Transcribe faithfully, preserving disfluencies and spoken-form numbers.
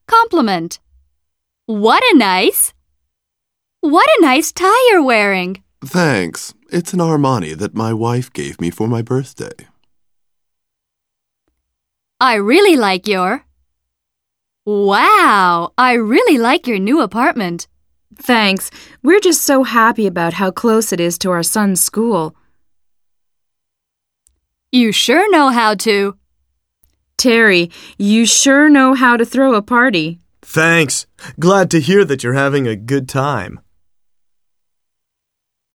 Compliment. What a nice... What a nice tie you're wearing. Thanks. It's an Armani that my wife gave me for my birthday. I really like your... Wow, I really like your new apartment. Thanks. We're just so happy about how close it is to our son's school. You sure know how to. Terry, you sure know how to throw a party. Thanks. Glad to hear that you're having a good time.